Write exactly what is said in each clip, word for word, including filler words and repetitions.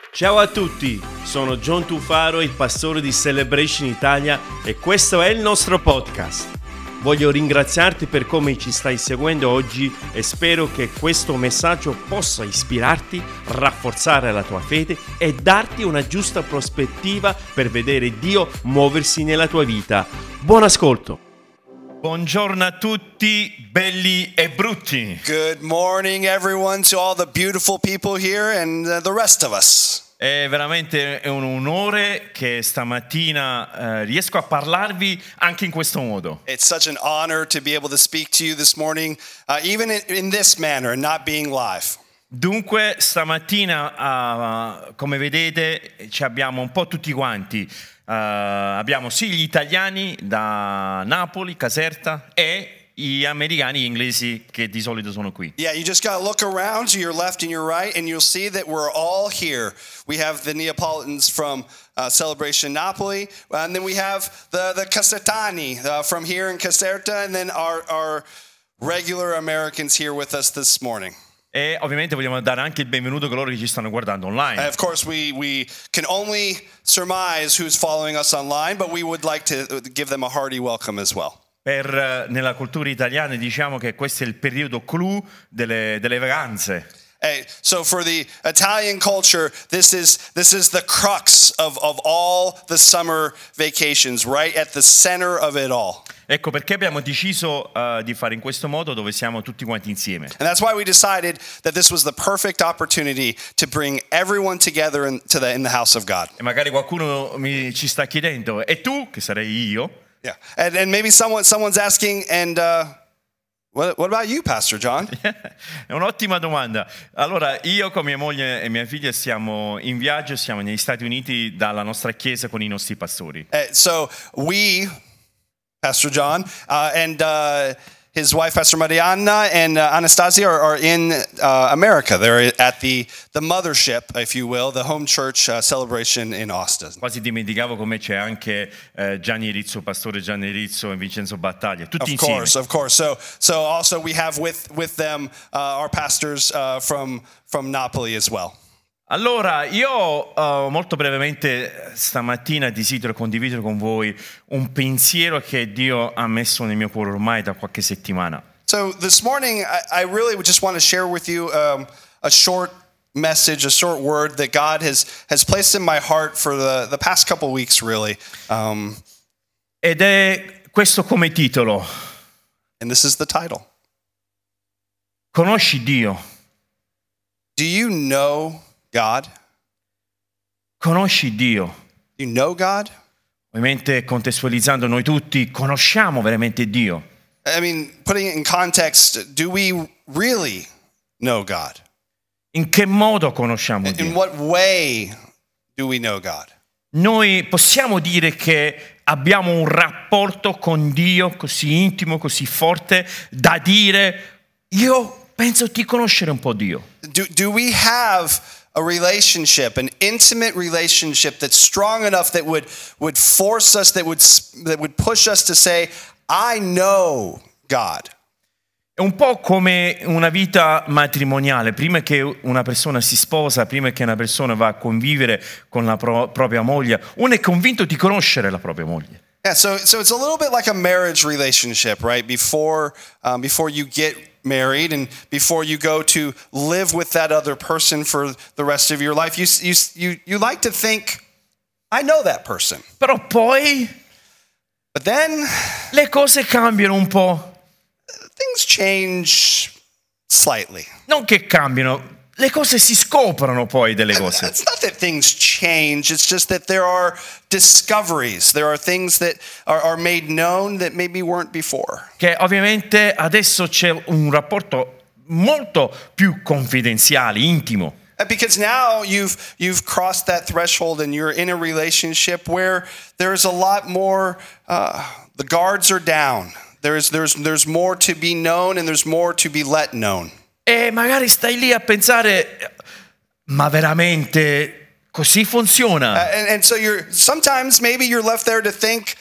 Ciao a tutti, sono John Tufaro, il pastore di Celebration Italia e questo è il nostro podcast. Voglio ringraziarti per come ci stai seguendo oggi e spero che questo messaggio possa ispirarti, rafforzare la tua fede e darti una giusta prospettiva per vedere Dio muoversi nella tua vita. Buon ascolto! Buongiorno a tutti, belli e brutti. Good morning, everyone, to all the beautiful people here and uh, the rest of us. È veramente un onore che stamattina eh, riesco a parlarvi anche in questo modo. It's such an honor to be able to speak to you this morning, uh, even in, in this manner, and not being live. Dunque, stamattina, uh, come vedete, ci abbiamo un po' tutti quanti. Uh, abbiamo sì gli italiani da Napoli, Caserta, e gli americani, gli inglesi che di solito sono qui. Yeah, you just got to look around to your left and your right, and you'll see that we're all here. We have the Neapolitans from uh, Celebration Napoli, and then we have the, the Casertani uh, from here in Caserta, and then our, our regular Americans here with us this morning. E ovviamente vogliamo dare anche il benvenuto a coloro che ci stanno guardando online. And of course, we, we can only surmise who's following us online, but we would like to give them a hearty welcome as well. Per, nella cultura italiana diciamo che questo è il periodo clou delle, delle vacanze. Hey, so for the Italian culture, this is this is the crux of, of all the summer vacations, right at the center of it all. Ecco perché abbiamo deciso uh, di fare in questo modo dove siamo tutti quanti insieme. And that's why we decided that this was the perfect opportunity to bring everyone together in, to the, in the house of God. E magari qualcuno mi ci sta chiedendo, e tu, che sarei io? Yeah, and, and maybe someone someone's asking, and uh, what what about you, Pastor John? È un'ottima domanda. Allora, io con mia moglie e mia figlia siamo in viaggio, siamo negli Stati Uniti dalla nostra chiesa con i nostri pastori. Uh, so we, Pastor John, uh, and uh, his wife, Pastor Mariana, and uh, Anastasia are, are in uh, America. They're at the, the mothership, if you will, the home church uh, celebration in Austin. Quasi dimenticavo con me c'è anche eh, Gianni Rizzo, pastore Gianni Rizzo e Vincenzo Battaglia, tutti Of insieme. course, of course. So, so also we have with with them uh, our pastors uh, from from Napoli as well. Allora, io uh, molto brevemente stamattina desidero condividere con voi un pensiero che Dio ha messo nel mio cuore ormai da qualche settimana. So this morning, I, I really just want to share with you um, a short message, a short word that God has has placed in my heart for the, the past couple weeks, really. Um, Ed è questo come titolo. and this is the title. Conosci Dio? Do you know God? Conosci Dio? Do you know God? Ovviamente contestualizzando, noi tutti conosciamo veramente Dio. I mean, putting it in context, do we really know God? In che modo conosciamo In Dio? what way do we know God? Noi possiamo dire che abbiamo un rapporto con Dio così intimo, così forte, da dire, io penso di conoscere un po' Dio. Do, do we have a relationship, an intimate relationship that's strong enough that would, would force us, that would, that would push us to say, I know God? È un po' come una vita matrimoniale, prima che una persona si sposa, prima che una persona va a convivere con la pro- propria moglie, uno è convinto di conoscere la propria moglie. Yeah, so so it's a little bit like a marriage relationship, right? Before um, before you get married and before you go to live with that other person for the rest of your life, you you you you like to think, I know that person. Però poi But then le cose cambiano un po'. things change slightly. Non che cambiano, le cose si scoprono poi delle cose. It's not that things change, it's just that there are discoveries. There are things that are, are made known that maybe weren't before. Che ovviamente adesso c'è un rapporto molto più confidenziale, intimo. Because now you've you've crossed that threshold and you're in a relationship where there's a lot more, uh, the guards are down. There's there's there's more to be known and there's more to be let known. E magari stai lì a pensare, ma veramente così funziona? Uh, and, and so you're sometimes maybe you're left there to think,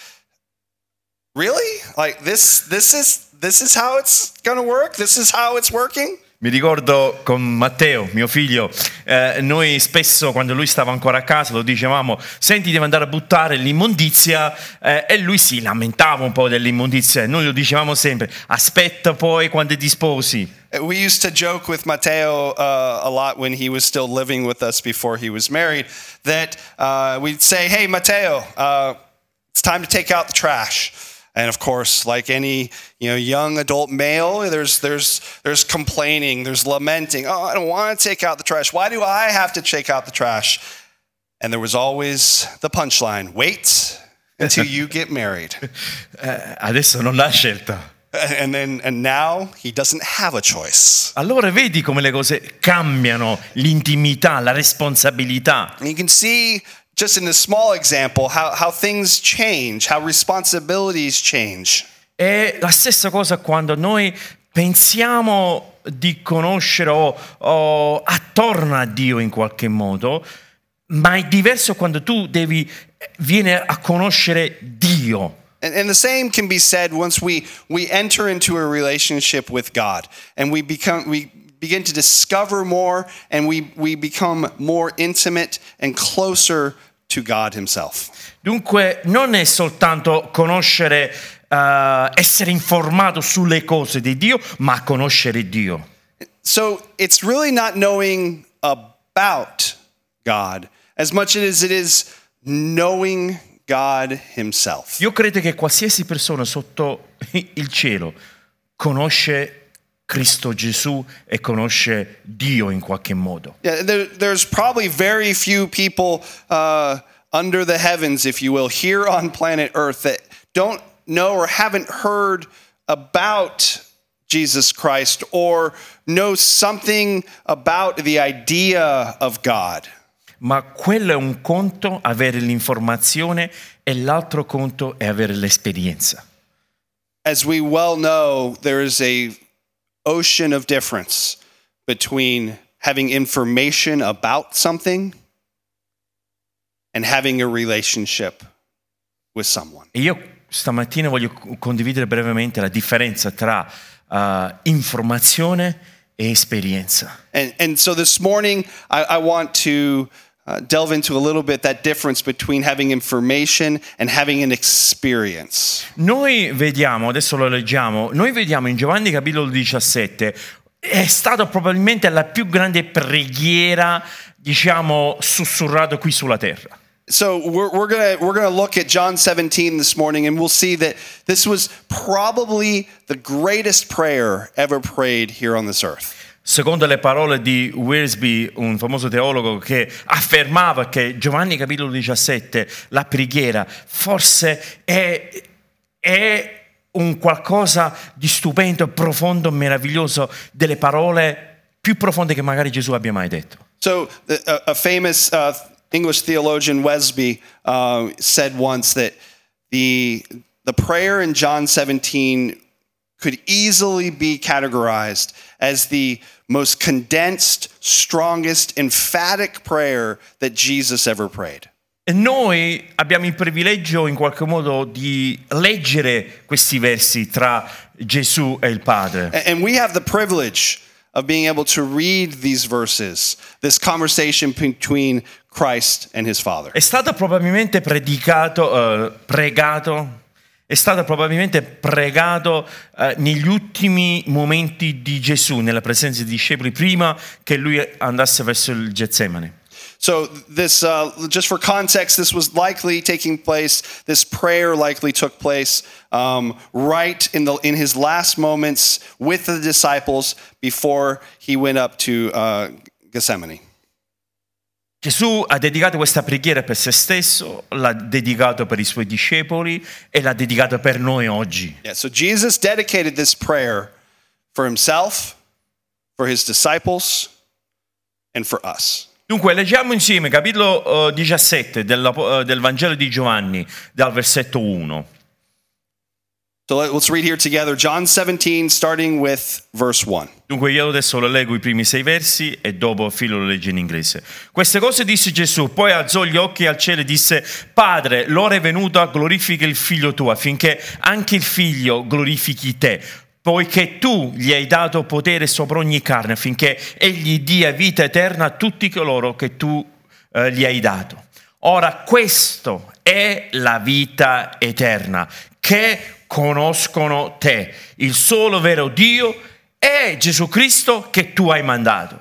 really? Like this this is this is how it's going to work? This is how it's working? Mi ricordo con Matteo, mio figlio, eh, noi spesso quando lui stava ancora a casa lo dicevamo: senti, devi andare a buttare l'immondizia, eh, e lui si lamentava un po' dell'immondizia e noi lo dicevamo sempre: aspetta poi quando ti sposi. We used to joke with Matteo uh, a lot when he was still living with us before he was married, that uh, we'd say, hey, Matteo, uh, it's time to take out the trash. And of course, like any you know young adult male, there's there's there's complaining, there's lamenting. Oh, I don't want to take out the trash. Why do I have to take out the trash? And there was always the punchline: wait until you get married. Eh, adesso non l'ha scelta. And then and now he doesn't have a choice. Allora vedi come le cose cambiano, l'intimità, la responsabilità. And you can see just in this small example how, how things change, how responsibilities change. È la stessa cosa quando noi pensiamo di conoscere o, o attorno a Dio in qualche modo, ma è diverso quando tu devi vieni a conoscere Dio. And, and the same can be said once we, we enter into a relationship with God and we become we begin to discover more and we, we become more intimate and closer to God himself. Dunque non è soltanto conoscere, uh, essere informato sulle cose di Dio, ma conoscere Dio. So it's really not knowing about God as much as it is knowing God himself. Io credo che qualsiasi persona sotto il cielo conosce Cristo Gesù e conosce Dio in qualche modo. Yeah, there, there's probably very few people uh, under the heavens, if you will, here on planet Earth that don't know or haven't heard about Jesus Christ or know something about the idea of God. Ma quello è un conto, avere l'informazione, e l'altro conto è avere l'esperienza. As we well know, there is a ocean of difference between having information about something and having a relationship with someone. E io stamattina voglio condividere brevemente la differenza tra uh, informazione e esperienza. And, and so this morning, I, I want to uh, delve into a little bit that difference between having information and having an experience. Noi vediamo, adesso lo leggiamo, noi vediamo in Giovanni capitolo diciassette, è stata probabilmente la più grande preghiera, diciamo, sussurrata qui sulla terra. So we're, we're gonna we're gonna look at John seventeen this morning, and we'll see that this was probably the greatest prayer ever prayed here on this earth. Secondo le parole di Wiersbe, un famoso teologo che affermava che Giovanni capitolo diciassette, la preghiera, forse è, è un qualcosa di stupendo, profondo, meraviglioso, delle parole più profonde che magari Gesù abbia mai detto. So a, a famous uh, English theologian, Wesby, uh, said once that the the prayer in John seventeen could easily be categorized as the most condensed, strongest, emphatic prayer that Jesus ever prayed. E noi abbiamo il privilegio in qualche modo di leggere questi versi tra Gesù e il Padre. And we have the privilege of being able to read these verses, this conversation between Christ and his Father. È stato probabilmente predicato, uh, pregato, è stato probabilmente pregato uh, negli ultimi momenti di Gesù, nella presenza dei discepoli, prima che lui andasse verso il Getsemani. So this, uh, just for context, this was likely taking place, this prayer likely took place um, right in, the, in his last moments with the disciples before he went up to uh, Gethsemane. Gesù ha dedicato questa preghiera per se stesso, l'ha dedicato per i suoi discepoli e l'ha dedicato per noi oggi. Yeah, so Jesus dedicated this prayer for himself, for his disciples, and for us. Dunque leggiamo insieme capitolo uh, diciassette del, uh, del Vangelo di Giovanni, dal versetto uno. So let's read here together John seventeen, starting with verse one. Dunque io adesso lo leggo i primi sei versi e dopo Filo lo legge in inglese. Queste cose disse Gesù, poi alzò gli occhi al cielo e disse: Padre, l'ora è venuta, glorifica il figlio tuo, affinché anche il figlio glorifichi te, poiché tu gli hai dato potere sopra ogni carne, affinché egli dia vita eterna a tutti coloro che tu eh, gli hai dato. Ora questo è la vita eterna, che conoscono te, il solo vero Dio, e Gesù Cristo che tu hai mandato.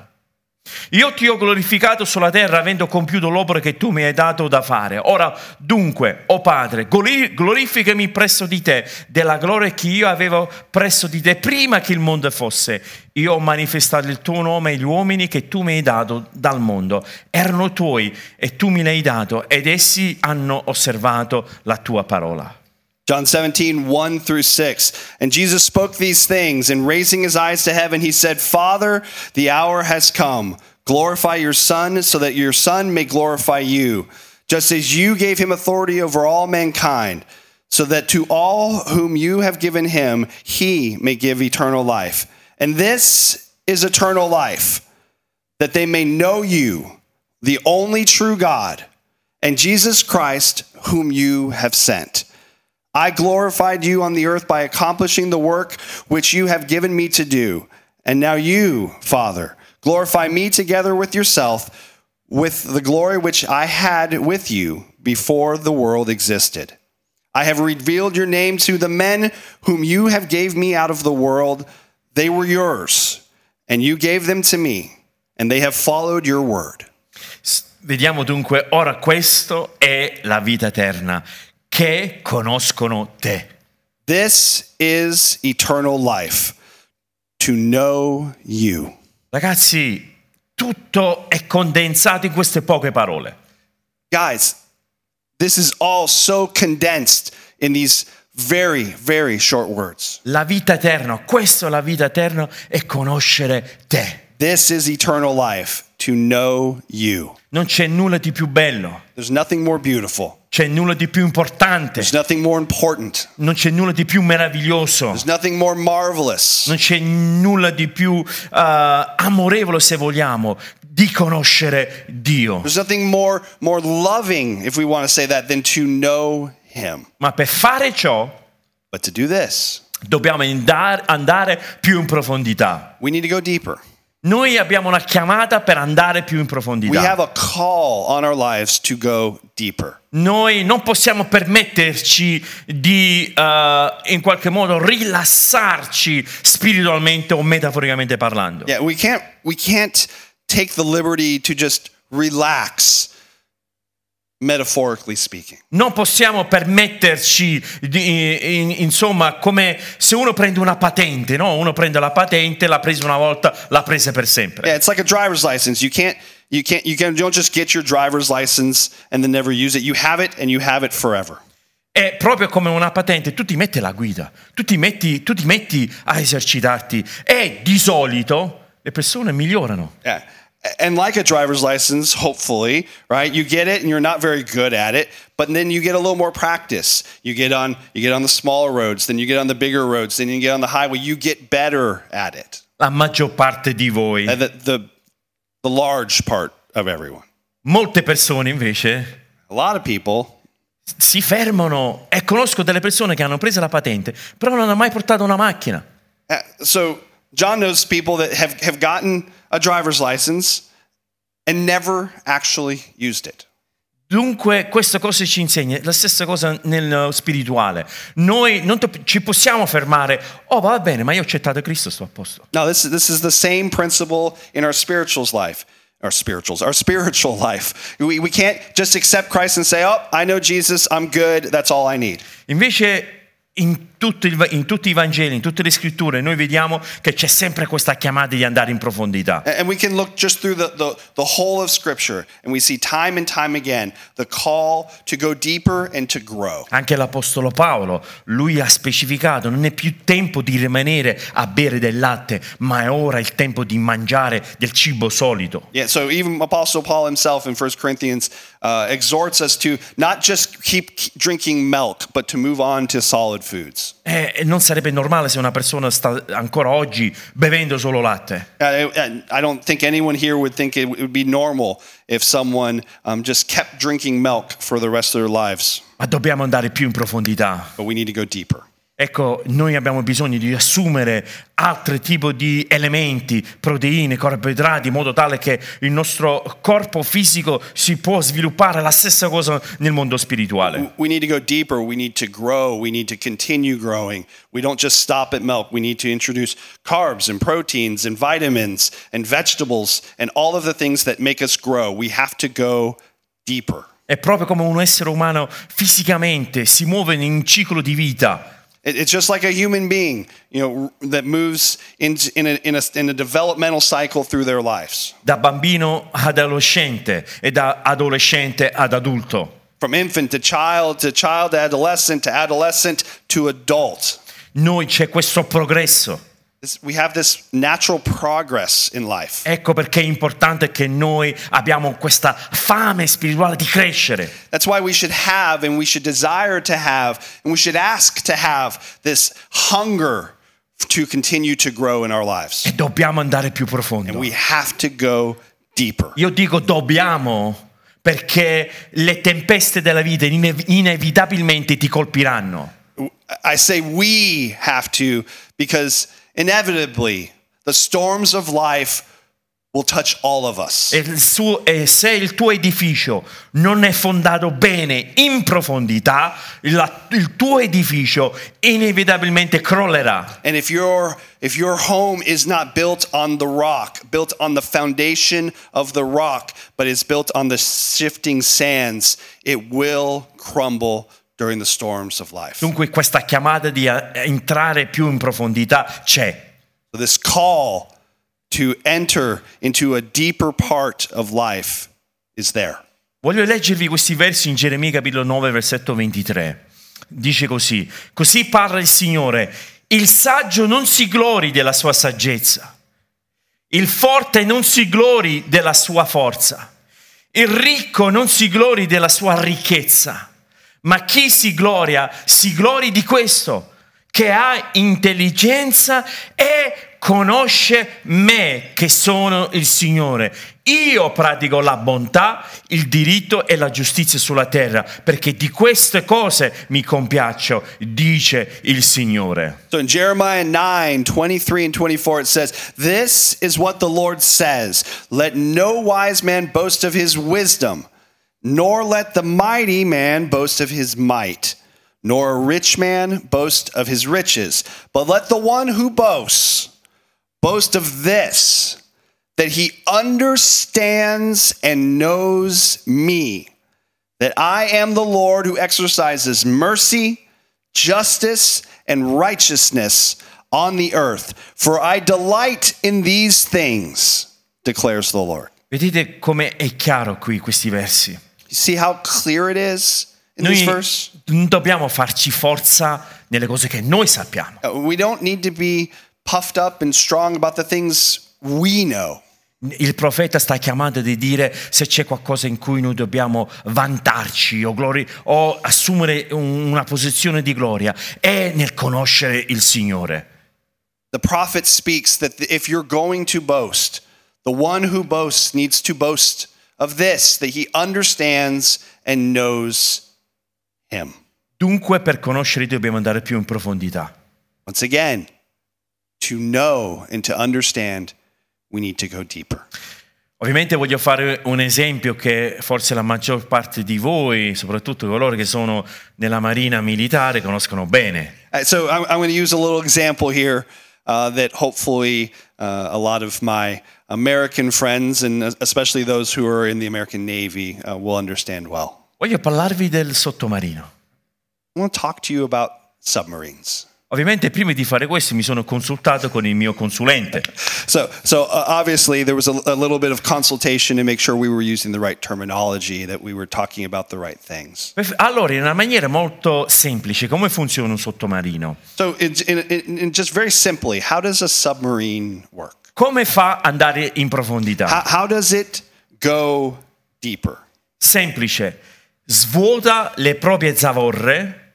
Io ti ho glorificato sulla terra avendo compiuto l'opera che tu mi hai dato da fare. Ora dunque, o Padre, glorificami presso di te della gloria che io avevo presso di te prima che il mondo fosse. Io ho manifestato il tuo nome agli uomini che tu mi hai dato dal mondo. Erano tuoi e tu me li hai dato ed essi hanno osservato la tua parola. John seventeen, one through six. And Jesus spoke these things, and raising his eyes to heaven, he said, Father, the hour has come. Glorify your Son, so that your Son may glorify you, just as you gave him authority over all mankind, so that to all whom you have given him, he may give eternal life. And this is eternal life, that they may know you, the only true God, and Jesus Christ, whom you have sent. I glorified you on the earth by accomplishing the work which you have given me to do. And now you, Father, glorify me together with yourself with the glory which I had with you before the world existed. I have revealed your name to the men whom you have gave me out of the world. They were yours, and you gave them to me, and they have followed your word. Vediamo dunque, ora questo è la vita eterna, che conoscono te. This is eternal life, to know you. Ragazzi, tutto è condensato in queste poche parole. Guys, this is all so condensed in these very, very short words. La vita eterna, questa è la vita eterna, è conoscere te. This is eternal life, to know you. Non c'è nulla di più bello. There's nothing more beautiful. C'è nulla di più importante. There's nothing more important. Non c'è nulla di più meraviglioso. There's nothing more marvelous. Non c'è nulla di più uh, amorevole, se vogliamo, di conoscere Dio. There's nothing more, more loving, if we want to say that, than to know him. Ma per fare ciò, But to do this, dobbiamo andare, andare più in profondità. we need to go deeper. Noi abbiamo una chiamata per andare più in We profondità. have a call on our lives to go deeper. Noi non possiamo permetterci di uh, in qualche modo rilassarci spiritualmente o metaforicamente parlando. Yeah, we can't we can't take the liberty to just relax, metaphorically speaking. Non possiamo permetterci, di, in, insomma, come se uno prende una patente, no? Uno prende la patente, l'ha presa una volta, l'ha presa per sempre. Yeah, it's like a driver's license. You can't you can't you can don't just get your driver's license and then never use it. You have it and you have it forever. È proprio come una patente, tu ti metti alla guida, tu ti metti, tu ti metti a esercitarti e di solito le persone migliorano. Yeah. And like a driver's license, hopefully, right? You get it and you're not very good at it, but then you get a little more practice. You get on you get on the smaller roads, then you get on the bigger roads, then you get on the highway. You get better at it. La maggior parte di voi. And the the, the large part of everyone. Molte persone invece A lot of people si fermano e conosco delle persone che hanno preso la patente, però non hanno mai portato una macchina. uh, so John knows people that have, have gotten a driver's license and never actually used it. Dunque, questa cosa ci insegna la stessa cosa nel spirituale. Noi non to- ci possiamo fermare, oh va bene, ma io ho accettato Cristo, sto a posto. No, this, this is the same principle in our spirituals life. Our spirituals, our spiritual life. We, we can't just accept Christ and say, oh, I know Jesus, I'm good, that's all I need. Invece in tutti, il- in tutti i Vangeli, in tutte le scritture, noi vediamo che c'è sempre questa chiamata di andare in profondità. And and we can look just through the, the, the whole of Scripture and we see time and time again the call to go deeper and to grow. Anche l'Apostolo Paolo, lui ha specificato, non è più tempo di rimanere a bere del latte, ma è ora il tempo di mangiare del cibo solido. Yeah, so even Apostle Paul himself in First Corinthians uh, exhorts us to not just keep drinking milk, but to move on to solid foods. E e non sarebbe normale se una persona sta ancora oggi bevendo solo latte. Uh, I I don't think anyone here would think it would be normal if someone um, just kept drinking milk for the rest of their lives. Ma dobbiamo andare più in profondità. But we need to go deeper. Ecco, noi abbiamo bisogno di assumere altri tipi di elementi, proteine, carboidrati, in modo tale che il nostro corpo fisico si può sviluppare la stessa cosa nel mondo spirituale. We need to go deeper. We need to grow. We need to continue growing. We don't just stop at milk. We need to introduce carbs and proteins and vitamins and vegetables and all of the things that make us grow. We have to go deeper. È proprio come un essere umano fisicamente si muove in un ciclo di vita. It's just like a human being, you know, that moves in in a, in a in a developmental cycle through their lives. Da bambino ad adolescente e da adolescente ad adulto. From infant to child to child to adolescent to adolescent to adult. Noi c'è questo progresso. This, we have this natural progress in life. Ecco perché è importante che noi abbiamo questa fame spirituale di crescere. That's why we should have and we should desire to have and we should ask to have this hunger to continue to grow in our lives. E dobbiamo andare più profondo. And we have to go deeper. Io dico dobbiamo perché le tempeste della vita inev- inevitabilmente ti colpiranno. I say we have to because inevitably the storms of life will touch all of us. E, il suo, e se il tuo edificio non è fondato bene in profondità, la, il tuo edificio inevitabilmente crollerà. And if your if your home is not built on the rock, built on the foundation of the rock, but is built on the shifting sands, it will crumble during the storms of life. Dunque questa chiamata di entrare più in profondità c'è. So this call to enter into a deeper part of life is there. Voglio leggervi questi versi in Geremia capitolo nove versetto ventitré. Dice così: così parla il Signore, il saggio non si glori della sua saggezza, il forte non si glori della sua forza, il ricco non si glori della sua ricchezza. Ma chi si gloria, si glori di questo, che ha intelligenza e conosce me, che sono il Signore. Io pratico la bontà, il diritto e la giustizia sulla terra, perché di queste cose mi compiaccio, dice il Signore. So in Jeremiah nine, twenty-three and twenty-four it says, "This is what the Lord says, let no wise man boast of his wisdom, nor let the mighty man boast of his might, nor a rich man boast of his riches. But let the one who boasts boast of this, that he understands and knows me, that I am the Lord who exercises mercy, justice, and righteousness on the earth. For I delight in these things, declares the Lord." Vedete come è chiaro qui questi versi? You see how clear it is in Noi this verse? non dobbiamo farci forza nelle cose che noi sappiamo. Uh, We don't need to be puffed up and strong about the things we know. Il profeta sta chiamando di dire se c'è qualcosa in cui noi dobbiamo vantarci o, glori- o assumere un- una posizione di gloria è nel conoscere il Signore. The prophet speaks that if you're going to boast, the one who boasts needs to boast of this, that he understands and knows him. Dunque per conoscere Dio dobbiamo andare più in profondità. Once again, to know and to understand, we need to go deeper. Ovviamente voglio fare un esempio che forse la maggior parte di voi, soprattutto coloro che sono nella marina militare, conoscono bene. Uh, So I'm, I'm going to use a little example here uh, that hopefully uh, a lot of my American friends, and especially those who are in the American Navy, uh, will understand well. Voglio parlarvi del sottomarino. I want to talk to you about submarines. Ovviamente prima di fare questo mi sono consultato con il mio consulente. So, so uh, obviously there was a, a little bit of consultation to make sure we were using the right terminology, that we were talking about the right things. Allora, in una maniera molto semplice, come funziona un sottomarino? So, in, in, in just very simply, how does a submarine work? Come fa ad andare in profondità? How, how does it go deeper? Semplice, svuota le proprie zavorre,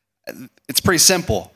It's pretty simple.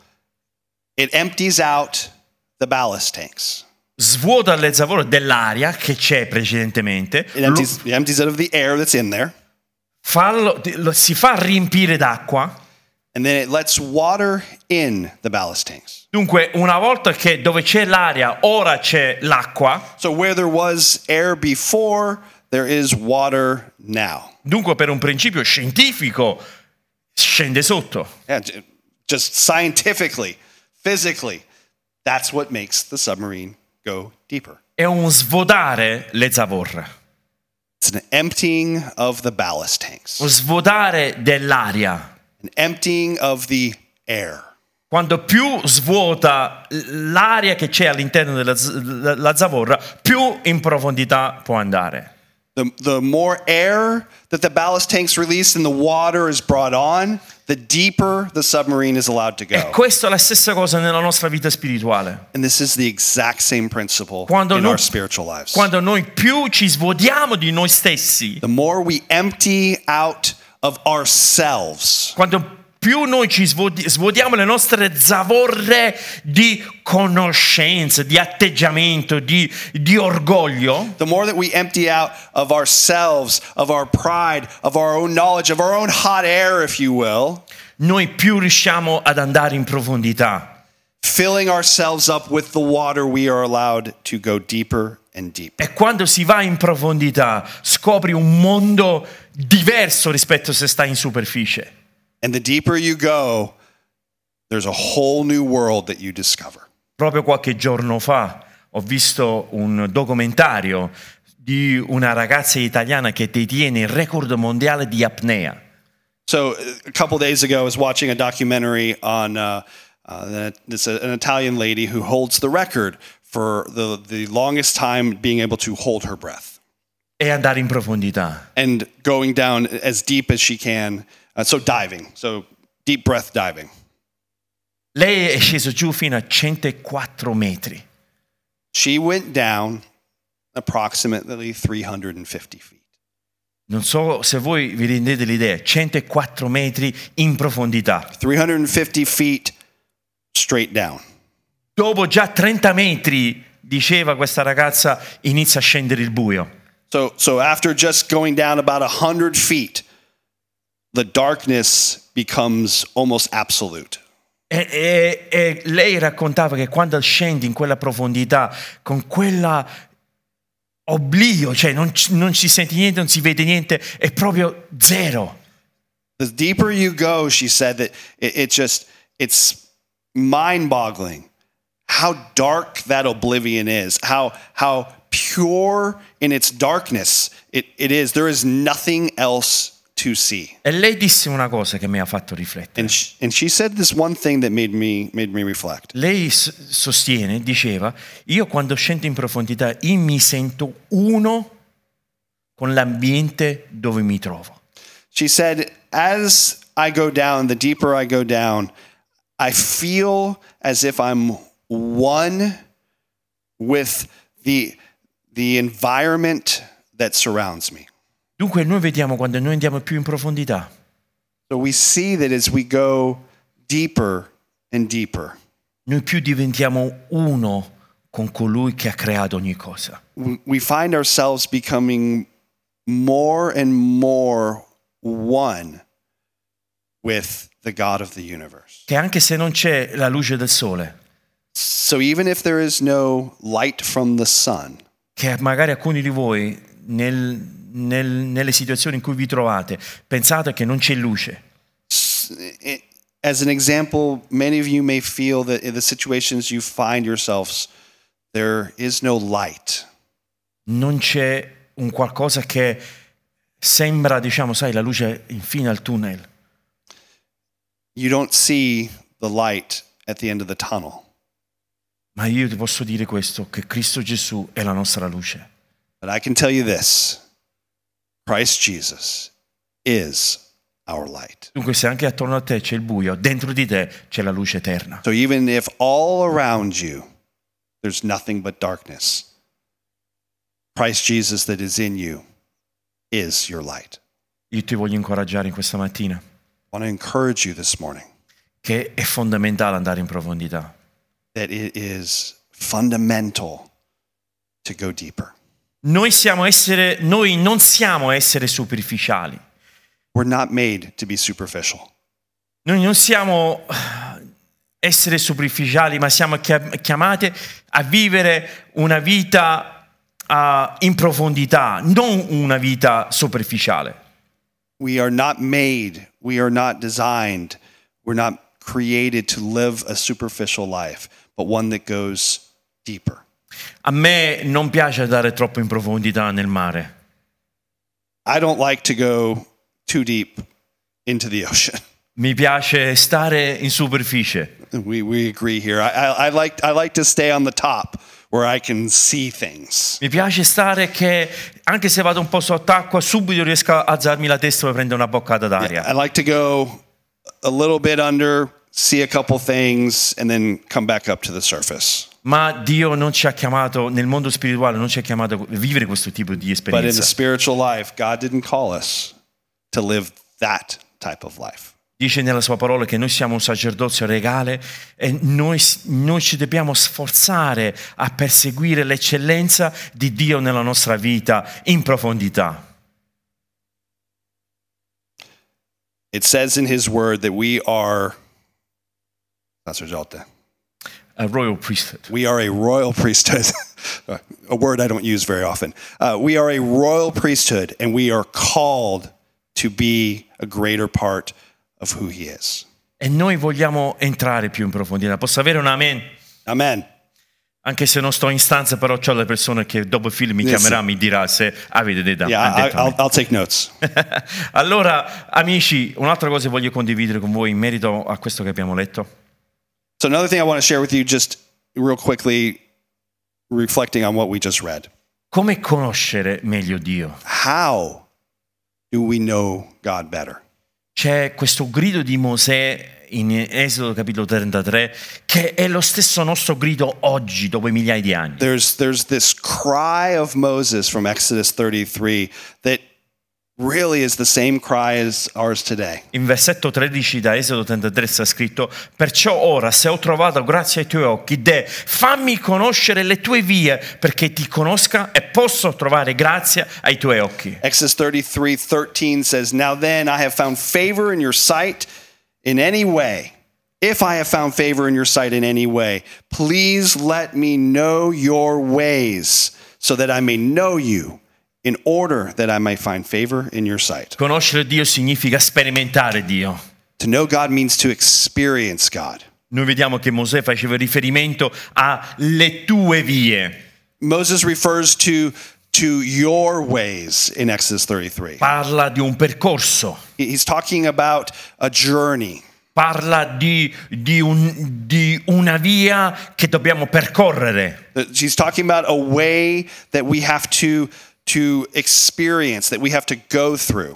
It empties out the ballast tanks. svuota le zavorre dell'aria che c'è precedentemente, It empties, it empties out of the air that's in there. fallo- lo- si fa riempire d'acqua, And then it lets water in the ballast tanks. Dunque, una volta che dove c'è l'aria, ora c'è l'acqua. So where there was air before, there is water now. Dunque, per un principio scientifico, scende sotto. Yeah, j- just scientifically, physically, that's what makes the submarine go deeper. È un svuotare le zavorre, It's an emptying of the ballast tanks, un svuotare dell'aria. an emptying of the air. Quando più svuota l'aria che c'è all'interno della z- la zavorra, più in profondità può andare. The, the more air that the ballast tanks release and the water is brought on, the deeper the submarine is allowed to E go. questa è la stessa cosa nella nostra vita spirituale. And this is the exact same principle Quando in noi- our spiritual lives. Quando noi più ci svuotiamo di noi stessi, The more we empty out of ourselves, quando più noi ci svuoti- svuotiamo le nostre zavorre di conoscenza, di atteggiamento, di, di orgoglio, the more that we empty out of ourselves, of our pride, of our own knowledge, of our own hot air, if you will, noi più riusciamo ad andare in profondità. filling ourselves up with the water, we are allowed to go deeper and deeper. E quando si va in profondità scopri un mondo diverso rispetto a se stai in superficie. And the deeper you go, there's a whole new world that you discover. Proprio qualche giorno fa ho visto un documentario di una ragazza italiana che detiene il record mondiale di apnea. So a couple days ago, I was watching a documentary on uh, uh, this, uh, an Italian lady who holds the record for the, the longest time being able to hold her breath E andare in profondità. and going down as deep as she can. Uh, so diving, so deep breath diving. Lei è sceso giù fino a centoquattro metri. She went down approximately three hundred fifty feet. Non so se voi vi rendete l'idea, centoquattro metri in profondità. three hundred fifty feet straight down. Dopo già trenta metri, diceva questa ragazza, inizia a scendere il buio. So, so after just going down about one hundred feet, the darkness becomes almost absolute. E, e- e lei raccontava che quando scendi in quella profondità, con quella oblio, cioè non, ci- non si sente niente, non si vede niente, è proprio zero. The deeper you go, she said that it, it just, it's mind-boggling how dark that oblivion is, how, how pure in its darkness it, it is. There is nothing else to see. E lei disse una cosa che mi ha fatto riflettere. And she, and she said this one thing that made me, made me reflect. Lei s- sostiene, diceva, io quando scendo in profondità, io mi sento uno con l'ambiente dove mi trovo. She said, as I go down, the deeper I go down, I feel as if I'm one with the, the environment that surrounds me. Dunque noi vediamo quando noi andiamo più in profondità, So we see that as we go deeper and deeper, noi più diventiamo uno con colui che ha creato ogni cosa. we we find ourselves becoming more and more one with the God of the universe. Che anche se non c'è la luce del sole, So even if there is no light from the sun, che magari alcuni di voi nel- nel- nelle situazioni in cui vi trovate pensate che non c'è luce, it- as an example, many of you may feel that in the situations you find yourselves, there is no light. non c'è un qualcosa che sembra, diciamo, sai, la luce in fine al tunnel. You don't see the light at the end of the tunnel. Ma io ti posso dire questo, che Cristo Gesù è la nostra luce. But I can tell you this, Christ Jesus is our light. Dunque se anche attorno a te c'è il buio, dentro di te c'è la luce eterna. So even if all around you there's nothing but darkness, Christ Jesus that is in you is your light. Io ti voglio incoraggiare in questa mattina I want to encourage you this morning che è fondamentale andare in profondità. that it is fundamental to go deeper. Noi siamo essere, noi non siamo essere superficiali. We're not made to be superficial. Noi non siamo esseri superficiali, ma siamo chiamati a vivere una vita uh, in profondità, non una vita superficiale. We are not made, we are not designed, we're not created to live a superficial life, but one that goes deeper. A me non piace andare troppo in profondità nel mare. I don't like to go too deep into the ocean. Mi piace stare in superficie. We we agree here. I, I, I like I like to stay on the top where I can see things. Mi piace stare che anche se vado un po' sott'acqua subito riesco a alzarmi la testa per prendere una boccata d'aria. I like to go a little bit under, see a couple things, and then come back up to the surface. Ma Dio non ci ha chiamato, nel mondo spirituale non ci ha chiamato a vivere questo tipo di But in the esperienza. spiritual life, God didn't call us to live that type of life. Dice nella sua parola che noi siamo un sacerdozio regale e noi, noi ci dobbiamo sforzare a perseguire l'eccellenza di Dio nella nostra vita in profondità. It says in his word that we are sacerdote. A royal priesthood. We are a royal priesthood, a word I don't use very often. Uh, we are a royal priesthood, and we are called to be a greater part of who he is. E noi vogliamo entrare più in profondità. Posso avere un amen? Amen. Anche se non sto in stanza, però c'ho le persone che dopo il film mi Yes. chiamerà, mi dirà se avete detto. Yeah, ha I, detto I'll, amen. I'll take notes. Allora, amici, un'altra cosa voglio condividere con voi in merito a questo che abbiamo letto. So another thing I want to share with you, just real quickly, reflecting on what we just read. Come conoscere meglio Dio? How do we know God better? C'è questo grido di Mosè in Esodo capitolo trentatré che è lo stesso nostro grido oggi, dopo migliaia di anni. There's there's this cry of Moses from Exodus thirty-three that really is the same cry as ours today. In versetto tredici da Esodo trentatré sta scritto: perciò ora, se ho trovato grazia ai tuoi occhi, Deh, fammi conoscere le tue vie perché ti conosca e posso trovare grazia ai tuoi occhi. Exodus thirty-three thirteen says, "Now then I have found favor in your sight in any way. If I have found favor in your sight in any way, please let me know your ways so that I may know you, in order that I may find favor in your sight." Conoscere Dio significa sperimentare Dio. To know God means to experience God. Noi vediamo che Mosè faceva riferimento alle tue vie. Moses refers to to your ways in Exodus thirty-three. Parla di un percorso. He's talking about a journey. Parla di, di, un, di una via che dobbiamo percorrere. He's talking about a way that we have to to experience, that we have to go through.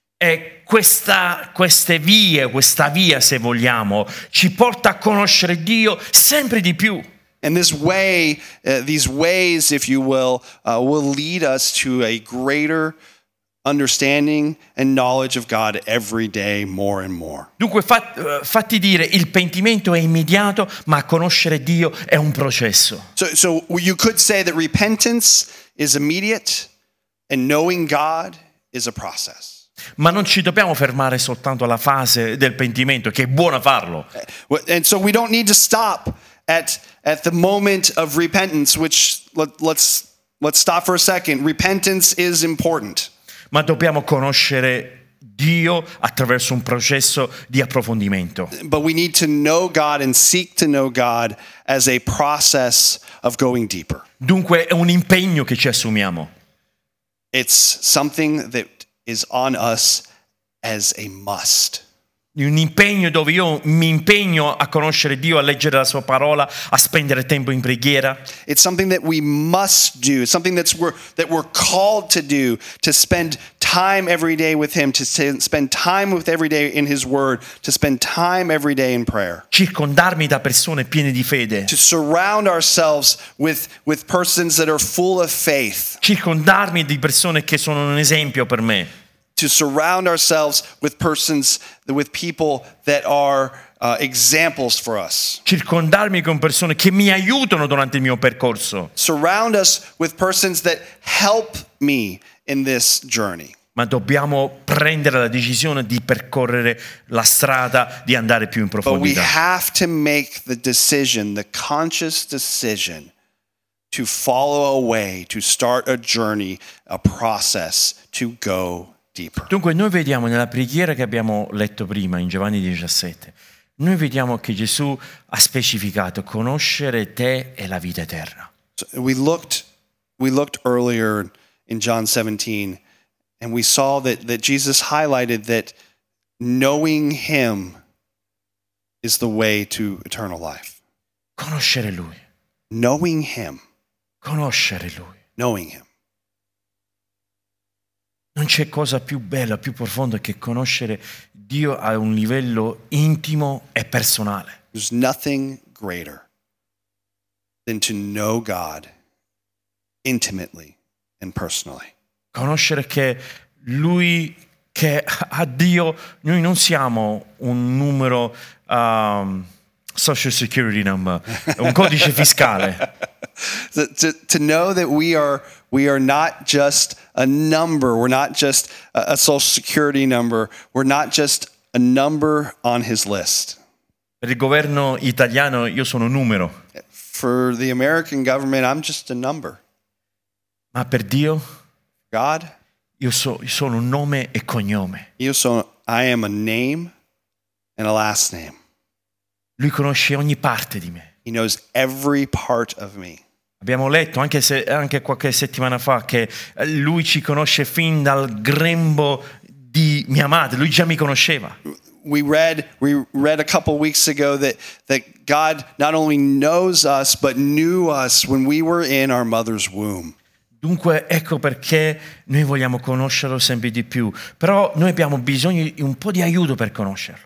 E questa, queste vie, questa via, se vogliamo, ci porta a conoscere Dio sempre di più. And this way, uh, these ways, if you will, uh, will lead us to a greater understanding and knowledge of God every day more and more. Dunque fat, fatti dire, il pentimento è immediato, ma conoscere Dio è un processo. So, so you could say that repentance is immediate and knowing God is a process. Ma non ci dobbiamo fermare soltanto alla fase del pentimento, che è buona farlo. And so we don't need to stop at at the moment of repentance, which let, let's let's stop for a second. Repentance is important. Ma dobbiamo conoscere Dio attraverso un processo di approfondimento. But we need to know God and seek to know God as a process of going deeper. Dunque è un impegno che ci assumiamo. It's something that is on us as a must. Un impegno dove io mi impegno a conoscere Dio, a leggere la sua parola, a spendere tempo in preghiera. It's something that we must do. It's something that's we're, that we're called to do, to spend time every day with him, to spend time with every day in his word, to spend time every day in prayer. Circondarmi da persone piene di fede. To surround ourselves with, with persons that are full of faith. Circondarmi di persone che sono un esempio per me. To surround ourselves with persons, with people that are uh, examples for us. Circondarmi con persone che mi aiutano durante il mio percorso. Surround us with persons that help me in this journey. ma dobbiamo prendere la decisione di percorrere la strada di andare più in But we profondità. have to make the decision, the conscious decision, to follow a way, to start a journey, a process to go deeper. Dunque noi vediamo nella preghiera che abbiamo letto prima in Giovanni diciassette, noi vediamo che Gesù ha specificato conoscere te e la vita eterna. So we looked, we looked earlier in John seventeen, and we saw that, that Jesus highlighted that knowing him is the way to eternal life. Conoscere Lui, Knowing him, conoscere Lui. knowing him. Non c'è cosa più bella, più profonda che conoscere Dio a un livello intimo e personale. There's nothing greater than to know God intimately and personally. Conoscere che Lui, che a Dio, noi non siamo un numero, um, social security number, un codice fiscale. To, to, to know that we are we are not just a number, we're not just a, a social security number, we're not just a number on his list. Per il governo italiano io sono un numero, For the American government, I'm just a number. ma per Dio God, io, so, io sono un nome e cognome. you so I am a name and a last name. Lui conosce ogni parte di me. He knows every part of me. Abbiamo letto anche, se, anche qualche settimana fa che Lui ci conosce fin dal grembo di mia madre, Lui già mi conosceva. We read we read a couple weeks ago that that God not only knows us but knew us when we were in our mother's womb. Dunque ecco perché noi vogliamo conoscerlo sempre di più, però noi abbiamo bisogno di un po' di aiuto per conoscerlo.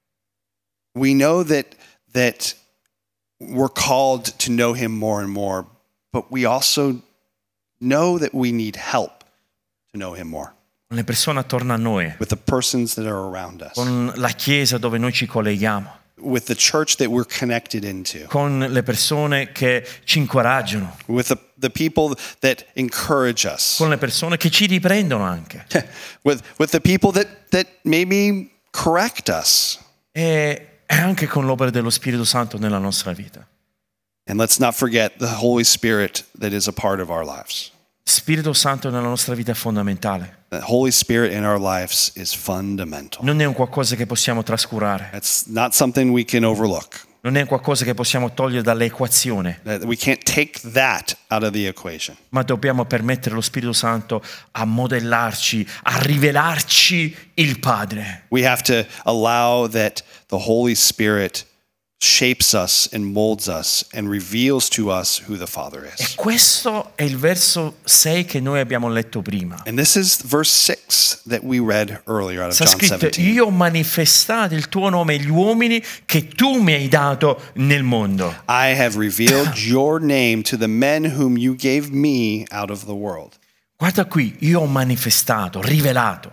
We know that that we're called to know him more and more, but we also know that we need help to know him more Con le persone attorno a noi, with the persons that are around us, con la chiesa dove noi ci colleghiamo, with the church that we're connected into, con le persone che ci incoraggiano, with the, the people that encourage us, con le persone che ci riprendono anche. with with the people that that maybe correct us. E e anche con l'opera dello Spirito Santo nella nostra vita. And let's not forget the Holy Spirit that is a part of our lives. Spirito Santo nella nostra vita è fondamentale. The Holy Spirit in our lives is fundamental. Non è un qualcosa che possiamo trascurare, That's not something we can overlook. non è un qualcosa che possiamo togliere dall'equazione, That we can't take that out of the equation. ma dobbiamo permettere allo Spirito Santo a modellarci, a rivelarci il Padre. We have to allow that the Holy Spirit shapes us and molds us and reveals to us who the Father E is. questo è il verso sei che noi abbiamo letto prima. And this is verse six that we read earlier out of Sta John scritto: seventeen. io ho manifestato il tuo nome agli uomini che tu mi hai dato nel mondo. I have revealed your name to the men whom you gave me out of the world. Guarda qui, io ho manifestato, rivelato.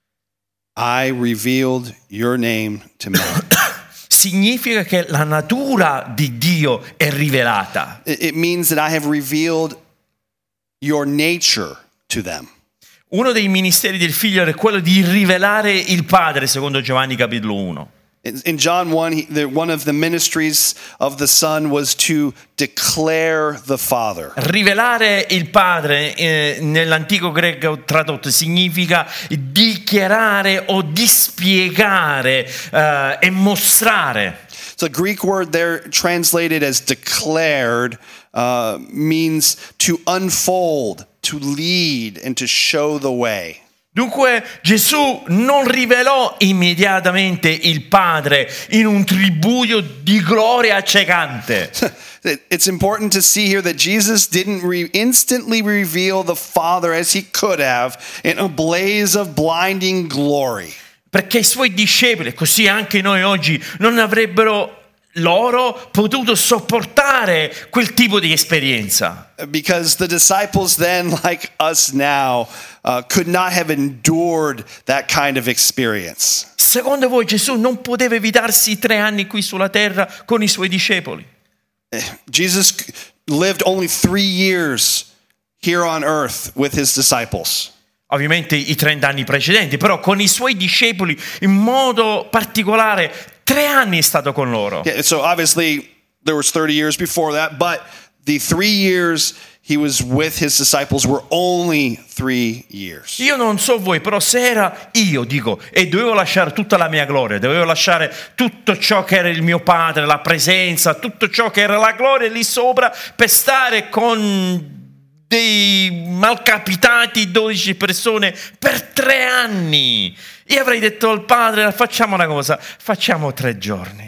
I revealed your name to men. Significa che la natura di Dio è rivelata. It it means that I have revealed your nature to them. Uno dei ministeri del figlio è quello di rivelare il Padre, secondo Giovanni capitolo uno. In in John one, he, the, one of the ministries of the Son was to declare the Father. Rivelare il Padre eh, nell'antico greco tradotto significa dichiarare o dispiegare eh, e mostrare. So the Greek word there translated as declared uh, means to unfold, to lead, and to show the way. Dunque Gesù non rivelò immediatamente il Padre in un tributo di gloria accecante. It's important to see here that Jesus didn't re- instantly reveal the Father as he could have in a blaze of blinding glory. Perché i suoi discepoli, e così anche noi oggi, non avrebbero loro potuto sopportare quel tipo di esperienza. Because the disciples then, like us now, uh, could not have endured that kind of experience. Secondo voi Gesù non poteva evitarsi tre anni qui sulla terra con i suoi discepoli? Jesus lived only three years here on earth with his disciples. ovviamente i trenta anni precedenti, però con i suoi discepoli in modo particolare tre anni è stato con loro. Yeah, so obviously there was thirty years before that, but the three years he was with his disciples were only three years. Io non so voi, però se era io, dico, e dovevo lasciare tutta la mia gloria, dovevo lasciare tutto ciò che era il mio Padre, la presenza, tutto ciò che era la gloria lì sopra per stare con dei malcapitati dodici persone per tre anni. Io avrei detto al Padre, facciamo una cosa, facciamo tre giorni.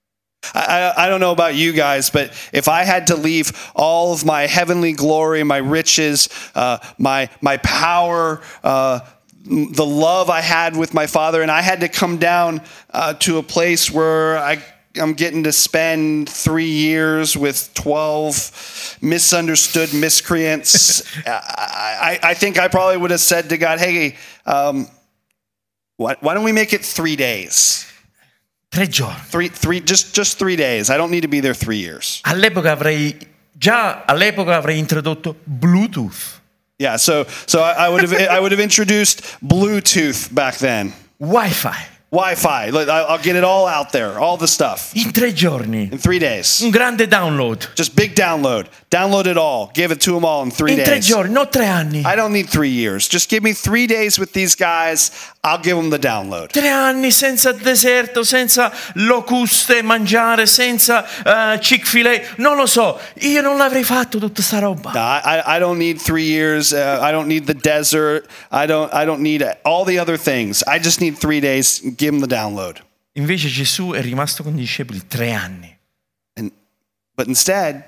I, I don't know about you guys, but if I had to leave all of my heavenly glory, my riches, uh, my my power, uh, the love I had with my Father, and I had to come down uh, to a place where I, I'm getting to spend three years with twelve misunderstood miscreants, I, I, I think I probably would have said to God, hey, um, why, why don't we make it three days? Tre giorni. Three, three, just, just three days. I don't need to be there three years. All'epoca avrei già all'epoca avrei introdotto Bluetooth, Yeah, so so I, I would have I would have introduced Bluetooth back then, Wi-Fi. Wi-Fi. Look, I- I'll get it all out there, all the stuff In tre giorni. in three days. Un grande download. Just big download. Download it all. Give it to them all in three In tre days. giorni, non tre anni. I don't need three years. Just give me three days with these guys. I'll give them the download. Tre anni senza deserto, senza locuste mangiare, senza uh, Chick-fil-A. Non lo so, io non l'avrei fatto tutta sta roba. No, I, I- I don't need three years. Uh, I don't need the desert. I don't I don't need all the other things. I just need three days. Give them the download. Invece Gesù è rimasto con i discepoli tre anni. And but instead,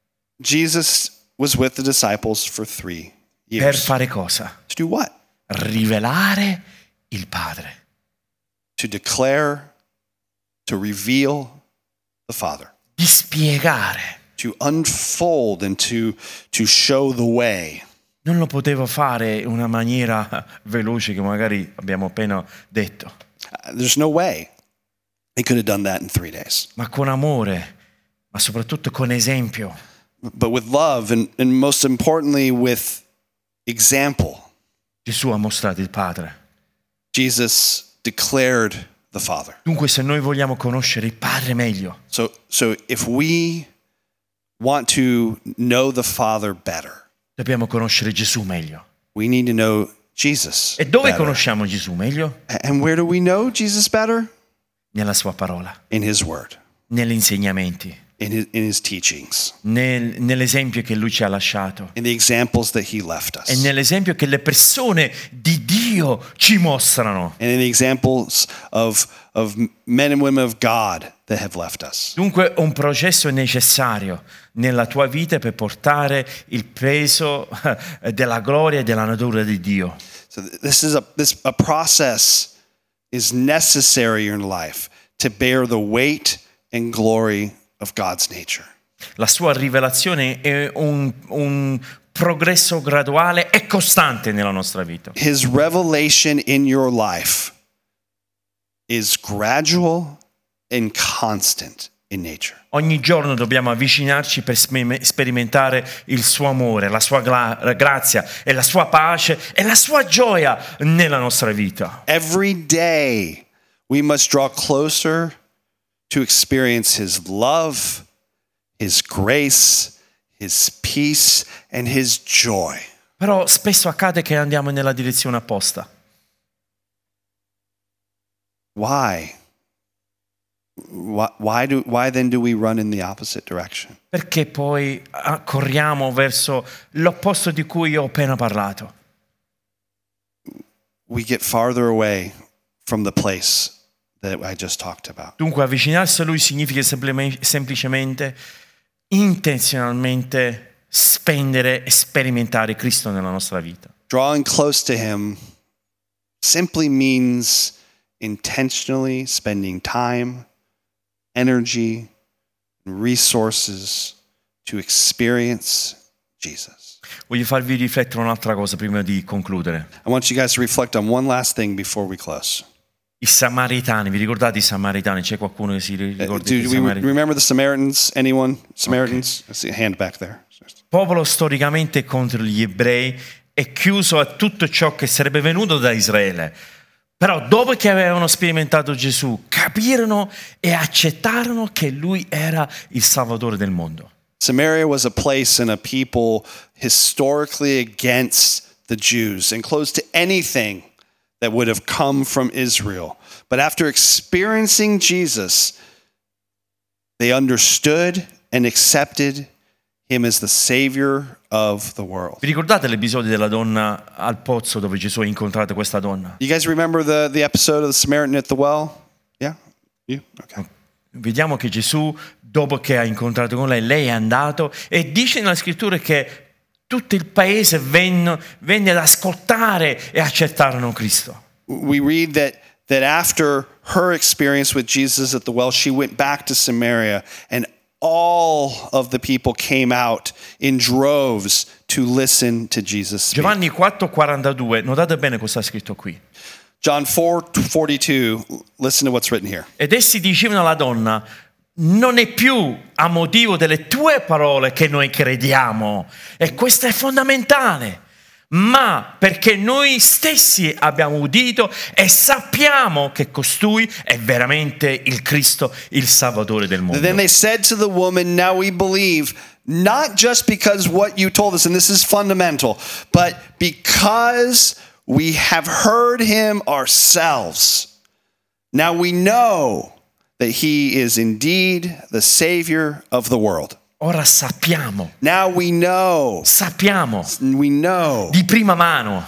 Jesus was with the disciples for three Per years. fare cosa? To do what? Rivelare il Padre. To declare, to reveal the Father, Di spiegare. to unfold and to to show the way. Non lo potevo fare in una maniera veloce che magari abbiamo appena detto, Uh, There's no way they could have done that in three days. ma con amore, ma soprattutto con esempio. But with love and, and most importantly with example, Gesù ha mostrato il Padre. Jesus declared the Father. Dunque, se noi vogliamo conoscere il Padre meglio, So so if we want to know the Father better, dobbiamo conoscere Gesù meglio. we need to know Jesus E dove better. conosciamo Gesù meglio? And where do we know Jesus better? Nella sua parola, In His Word, negli insegnamenti, in His, in his teachings, nel- nell'esempio che Lui ci ha lasciato in the examples that He left us, e nell'esempio che le persone di Dio ci mostrano. and in the examples of, of men and women of God that have left us. Dunque un processo necessario nella tua vita per portare il peso eh, della gloria e della natura di Dio. So th- this is a this a process is necessary in life to bear the weight and glory of God's nature. La sua rivelazione è un, un progresso graduale e costante nella nostra vita. His revelation in your life is gradual and constant in nature. Ogni giorno dobbiamo avvicinarci per spe- sperimentare il suo amore, la sua gla- grazia e la sua pace e la sua gioia nella nostra vita. Every day we must draw closer to experience His love, His grace, His peace, and His joy. Però spesso accade che andiamo nella direzione opposta. Why? Why, why, do, why then do we run in the opposite direction? Perché poi ah, corriamo verso l'opposto di cui io ho appena parlato. We get farther away from the place that I just talked about. Dunque avvicinarsi a Lui significa semplime- semplicemente, intenzionalmente spendere e sperimentare Cristo nella nostra vita. Drawing close to Him simply means intentionally spending time, energy, and resources to experience Jesus. Voglio farvi riflettere un'altra cosa prima di concludere. I want you guys to reflect on one last thing before we close. I Samaritani, vi ricordate i Samaritani? C'è qualcuno che si ricorda Uh, Do dei we Samaritani? remember the Samaritans? Anyone? Samaritans? I see a hand back there. Popolo storicamente contro gli ebrei e chiuso a tutto ciò che sarebbe venuto da Israele. Però dopo che avevano sperimentato Gesù, capirono e accettarono che lui era il Salvatore del mondo. Samaria was a place and a people historically against the Jews and closed to anything that would have come from Israel. But after experiencing Jesus, they understood and accepted him as the Savior of the world. Vi ricordate l'episodio della donna al pozzo dove Gesù ha incontrato questa donna? You guys remember the, the episode of the Samaritan at the well? Yeah? You? Okay. Vediamo che Gesù, dopo che ha incontrato con lei, lei è andato e dice nella scrittura che tutto il paese venne, venne ad ascoltare e accettarono Cristo. We read that, that after her experience with Jesus at the well, she went back to Samaria and all of the people came out in droves to listen to Jesus speak. Giovanni quattro quarantadue, notate bene cosa sta scritto qui. John four forty-two, listen to what's written here. Ed essi dicevano alla donna: non è più a motivo delle tue parole che noi crediamo, e questo è fondamentale, ma perché noi stessi abbiamo udito e sappiamo che costui è veramente il Cristo, il Salvatore del mondo. Then they said to the woman, now we believe, not just because what you told us, and this is fundamental, but because we have heard him ourselves. Now we know that he is indeed the Savior of the world. Ora sappiamo, Now we know, sappiamo we know, di prima mano,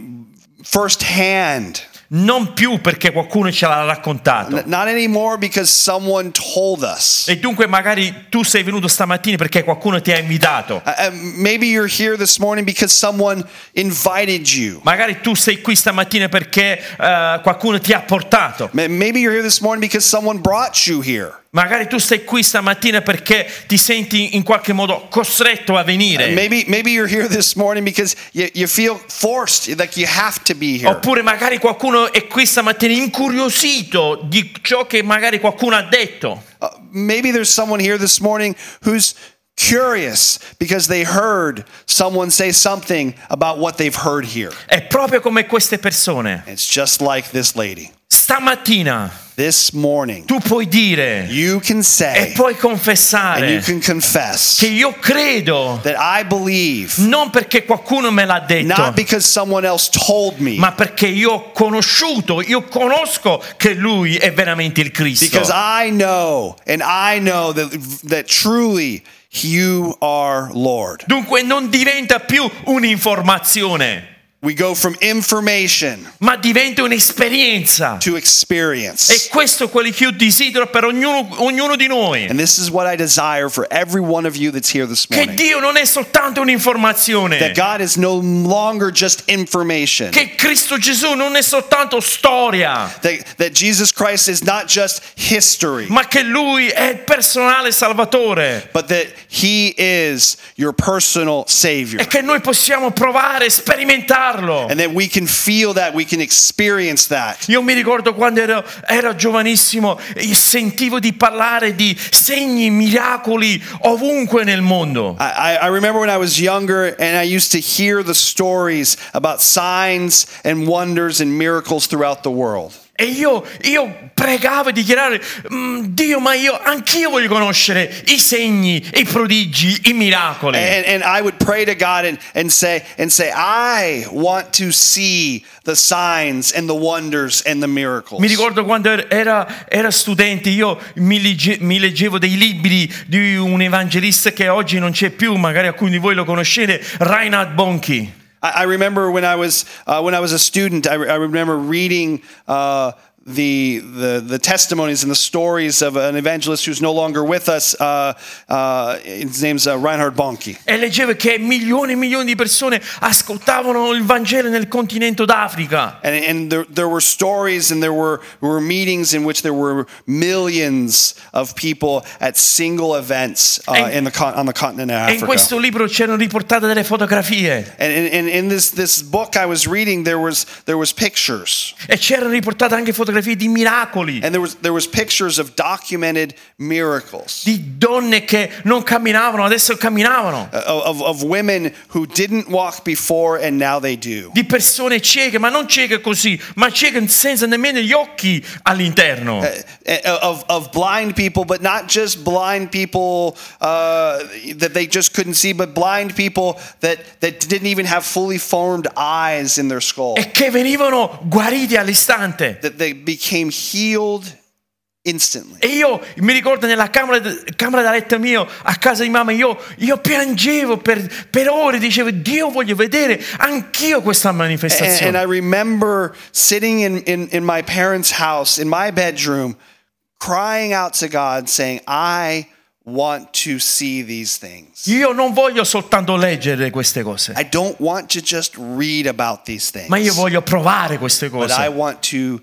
first hand. non più perché qualcuno ce l'ha raccontato. N- Not anymore because someone told us. E dunque magari tu sei venuto stamattina perché qualcuno ti ha invitato. Uh, uh, maybe you're here this morning because someone invited you. Magari tu sei qui stamattina perché uh, qualcuno ti ha portato. Ma- Maybe you're here this morning because someone brought you here. Magari tu sei qui stamattina perché ti senti in qualche modo costretto a venire. Uh, Maybe maybe you're here this morning because you, you feel forced, like you have to be here. Oppure magari qualcuno è qui stamattina incuriosito di ciò che magari qualcuno ha detto. Uh, maybe there's someone here this morning who's curious because they heard someone say something about what they've heard here. È proprio come queste persone. It's just like this lady. Stamattina This morning, tu puoi dire you can e say puoi and you confessare can confess che io credo, that I believe, non perché qualcuno me l'ha detto, not because someone else told me, ma perché io ho conosciuto, io conosco che lui è veramente il Cristo. because I know and I know that, that truly you are Lord. Dunque non diventa più un'informazione, We go from information ma diventa un'esperienza. to experience. E questo è quello che io desidero per ognuno, ognuno di noi. And this is what I desire for every one of you that's here this Che morning. Dio non è soltanto un'informazione, That God is no longer just information. che Cristo Gesù non è soltanto storia, That, that Jesus Christ is not just history, ma che Lui è il personale Salvatore, but that He is your personal Savior. e che noi possiamo provare, sperimentarlo. And that we can feel that, we can experience that. Io mi ricordo quando ero, ero giovanissimo, io sentivo di parlare di segni, miracoli ovunque nel mondo. I, I remember when I was younger and I used to hear the stories about signs and wonders and miracles throughout the world. E io, io pregavo e dichiaravo: Dio, ma io anch'io voglio conoscere i segni, i prodigi, i miracoli. And, and I would pray to God and, and say and say, I want to see the signs and the wonders and the miracles. Mi ricordo quando era, era studente, io mi, legge, mi leggevo dei libri di un evangelista che oggi non c'è più, magari alcuni di voi lo conoscete, Reinhard Bonnke. I, I remember when I was uh, when I was a student, I, I remember reading uh, the, the the testimonies and the stories of an evangelist who's no longer with us. Uh, uh, his name's uh, Reinhard Bonnke. E leggevo che milioni e milioni di persone ascoltavano il Vangelo nel continente d'Africa. And, and there, there were stories and there were, were meetings in which there were millions of people at single events uh, E- in the con- on the continent of E in Africa. questo libro c'erano riportate delle fotografie And in, in, in this, this book I was reading, there was there was pictures. e c'erano riportate anche fotografie fotografie di miracoli, And there was there was pictures of documented miracles. di donne che non camminavano, adesso camminavano, uh, Of, of women who didn't walk before and now they do. di persone cieche, ma non cieche così, ma cieche senza nemmeno gli occhi all'interno. Uh, of, of blind people, but not just blind people uh, that they just couldn't see, but blind people that, that didn't even have fully formed eyes in their skull. E che venivano guariti all'istante. That they became healed instantly. E io mi ricordo nella camera, camera da letto mio, a casa di mamma, io, io piangevo per, per ore, dicevo, Dio, voglio vedere anch'io questa And, manifestazione. and I remember sitting in, in, in my parents' house, in my bedroom, crying out to God, saying, I want to see these things. Io non voglio soltanto leggere queste cose, I don't want to just read about these things, ma io voglio provare queste but I cose. want to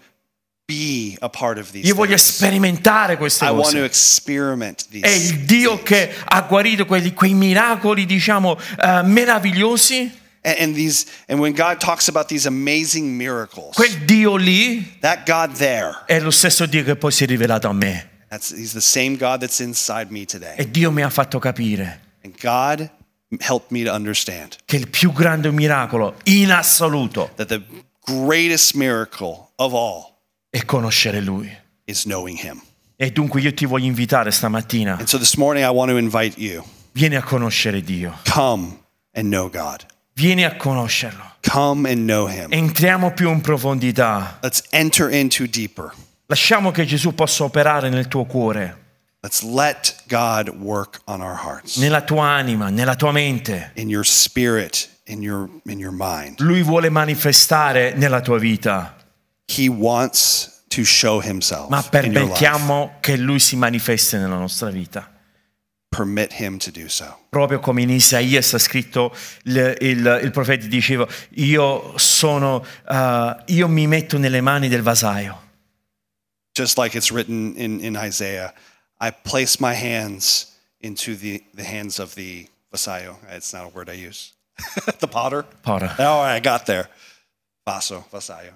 be a part of these Io voglio things. sperimentare queste I want to cose. experiment these È il Dio things. che ha guarito quelli, quei miracoli, diciamo, eh, meravigliosi. And, and these, and when God talks about these amazing miracles, Quel Dio lì that God there, è lo stesso Dio che poi si è rivelato a me. that's, he's the same God that's inside me today. E Dio mi ha fatto capire And God helped me to understand che il più grande miracolo in assoluto that the greatest miracle of all è conoscere Lui. is knowing Him. E dunque io ti voglio invitare stamattina, And so this morning I want to invite you, vieni a conoscere Dio, come and know God. vieni a conoscerlo. Come and know Him. Entriamo più in profondità. Let's enter into deeper. Lasciamo che Gesù possa operare nel tuo cuore, Let's let God work on our hearts, nella tua anima, nella tua mente. in your spirit, in your in your mind. Lui vuole manifestare nella tua vita, He wants to show Himself ma in your life. permettiamo che Lui si manifesti nella nostra vita. Permit Him to do so. Proprio come in Isaia sta scritto, il, il, il profeta diceva, io sono, uh, io mi metto nelle mani del vasaio. Just like it's written in, in Isaiah, I place my hands into the, the hands of the vasallo. It's not a word I use. The potter. Potter. Oh, I got there. Vaso, vasallo.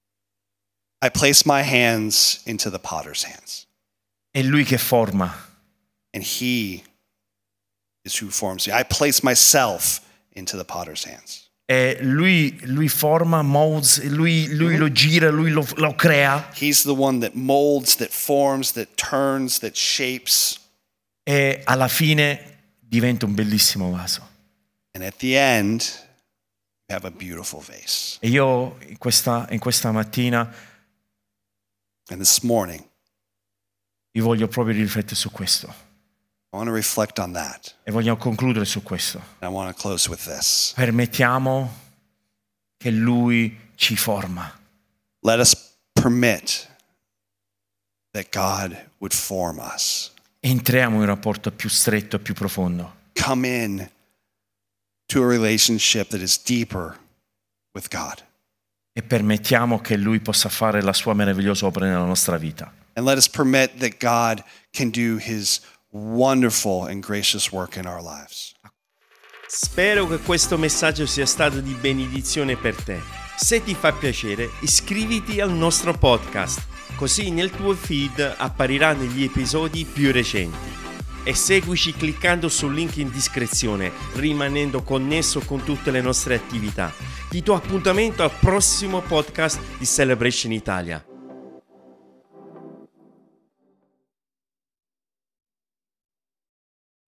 I place my hands into the potter's hands. È Lui che forma. And He is who forms me. I place myself into the potter's hands. E lui, lui forma, molds, lui, lui lo gira, lui lo, lo crea. He's the one that molds, that forms, that turns, that shapes. E alla fine diventa un bellissimo vaso. And at the end, you have a beautiful vase. E io in questa, in questa mattina And this morning, io voglio proprio riflettere su questo. I want to reflect on that. E voglio concludere su questo. And I want to close with this. Permettiamo che Lui ci forma. Let us permit that God would form us. Entriamo in un rapporto più stretto e più profondo. Come in to a relationship that is deeper with God. E permettiamo che Lui possa fare la sua meravigliosa opera nella nostra vita. And let us permit that God can do His wonderful and gracious work in our lives. Spero che questo messaggio sia stato di benedizione per te. Se ti fa piacere, iscriviti al nostro podcast, così nel tuo feed appariranno gli episodi più recenti. E seguici cliccando sul link in descrizione, rimanendo connesso con tutte le nostre attività. Ti do appuntamento al prossimo podcast di Celebration Italia.